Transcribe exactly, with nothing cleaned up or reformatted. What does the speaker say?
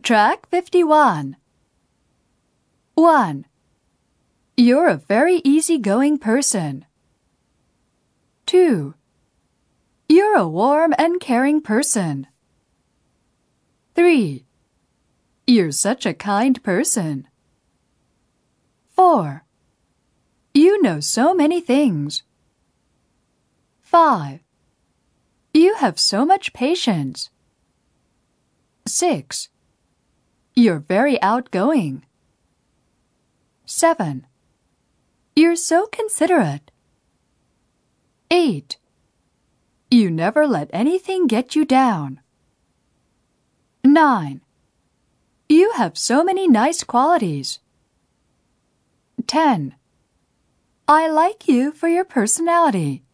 Track fifty-one. one. You're a very easygoing person. two. You're a warm and caring person. three. You're such a kind person. four. You know so many things. five. You have so much patience. six. You're very outgoing. seven. You're so considerate. eight. You never let anything get you down. nine. You have so many nice qualities. ten. I like you for your personality.